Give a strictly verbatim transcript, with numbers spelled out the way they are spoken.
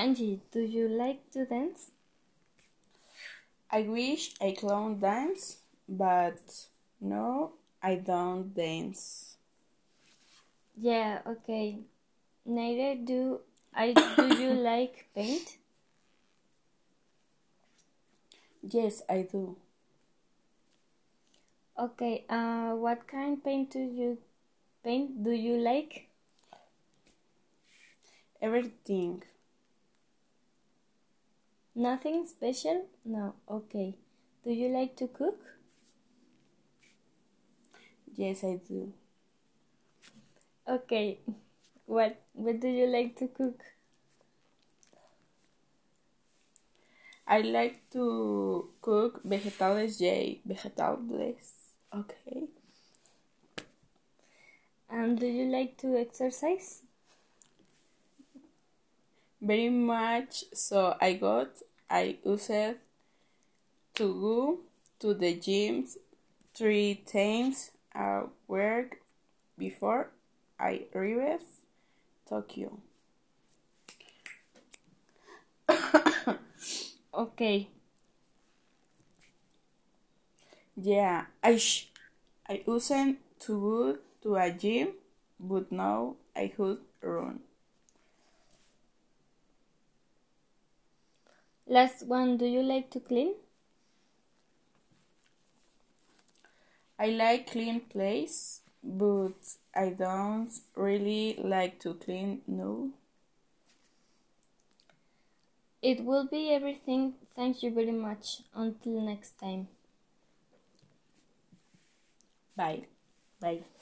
Angie, do you like to dance? I wish I could dance, but no, I don't dance. Yeah, okay. Neither do I. Do you like paint? Yes, I do. Okay, uh, what kind paint do you paint do you like? Everything. Nothing special? No, okay. Do you like to cook? Yes, I do. Okay. What what do you like to cook? I like to cook vegetales, yay, vegetales. Okay. And do you like to exercise? Very much. So I got, I used to go to the gym three times a week before I arrived Tokyo. Okay. Yeah, I sh- I used to go to a gym, but now I could run. Last one, do you like to clean? I like clean place, but I don't really like to clean no. It will be everything. Thank you very much. Until next time. Bye. Bye.